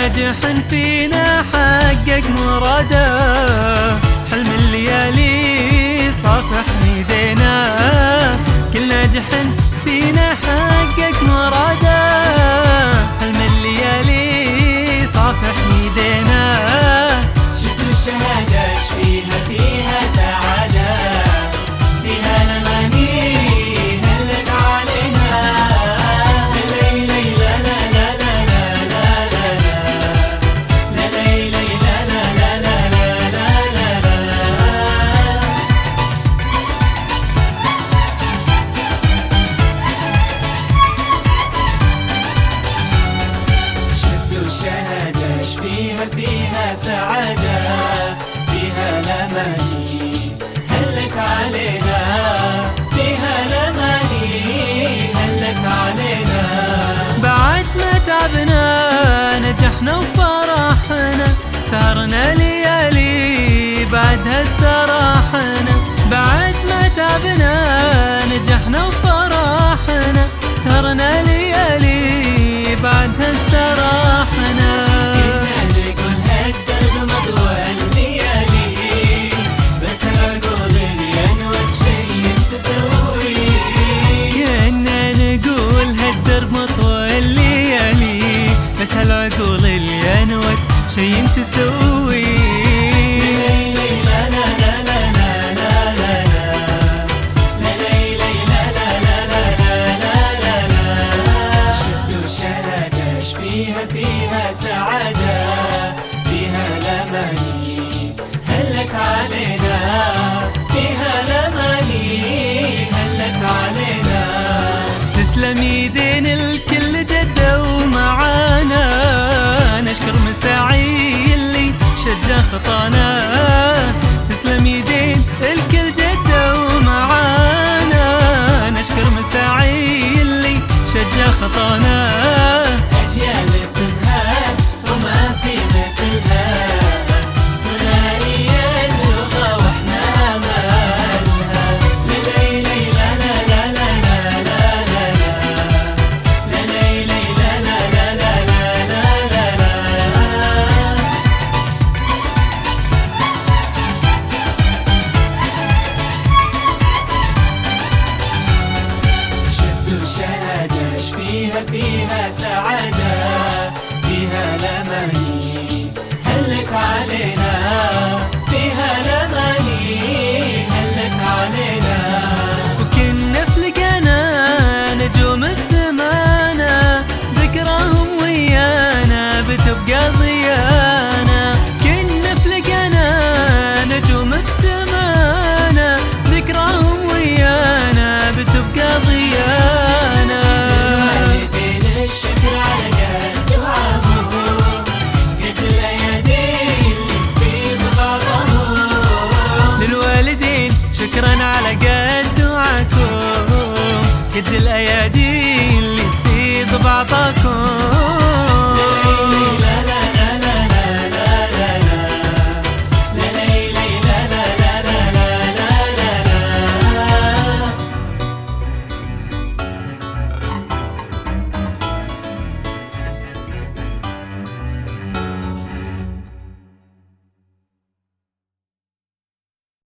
ناجح فينا حقق مراده، حلم الليالي صافح ايدينا. كل ناجح فينا حقق مراده، حلم الليالي صافح ايدينا. شفتوا الشهادة ايش فيها؟ فيها سعادة، فيها الأماني هلت علينا. ليلي لا لا لا لا لا لا لا ليلي لا لا لا لا لا لا. شفتوا الشهادة ايش فيها؟ فيها سعادة، فيها الأماني هلت علينا. فيها الأماني هلت علينا. بعد ما تعبنا نجحنا وفرحنا، سهرنا ليالي بعدها استراحنا. بعد ما تعبنا نجحنا وفرحنا، سهرنا ليالي بعدها استراحنا. كنا نقول هالدرب مطوى الليالي، بس العقول الينوت شي تسوي. كنا نقول هالدرب مطوى الليالي، بس هالعقول اللي انوت شي تسوي. ليلي لا لا لا لا لا لا لا ليلي لا لا لا لا لا لا. شفتوا الشهادة ايش فيها؟ فيها سعادة، فيها الأماني هلت علينا. فيها الأماني هلت علينا. تسلم يدين الكل جدوا معانا، نشكر مساعي اللي شجع خطانا. تسلم يدين الكل جدوا معانا، نشكر مساعي اللي شجع خطانا. أجيال اسمها وما في مثلها، ثنائية اللغة واحنا مالها. ليلي لا لا لا لا لا لا لا ليلي لا لا لا لا لا لا. شفتوا الشهادة ايش فيها؟ فيها سعادة، فيها الأماني هلت علينا. فيها الأماني هلت علينا. وكنا فلقنا نجوم بسمانا، ذكراهم ويانا بتبقى ضيانا. كنا فلقنا نجوم بسمانا، ذكراهم ويانا بتبقى ضيانا. للوالدين الشكر على قد دعاهم، قد الأيادي اللي تفيض بعضهم. للوالدين شكرا على قد دعاكم، قد الايادي اللي تفيض بعضكم.